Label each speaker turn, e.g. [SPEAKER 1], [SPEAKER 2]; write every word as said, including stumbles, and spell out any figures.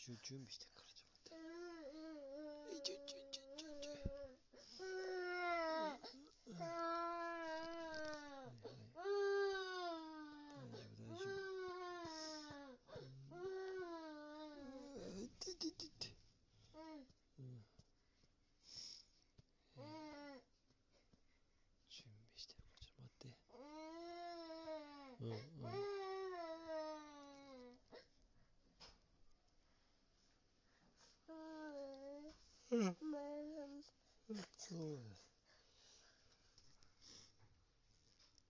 [SPEAKER 1] 一応準備してからちょっと待って。一応準備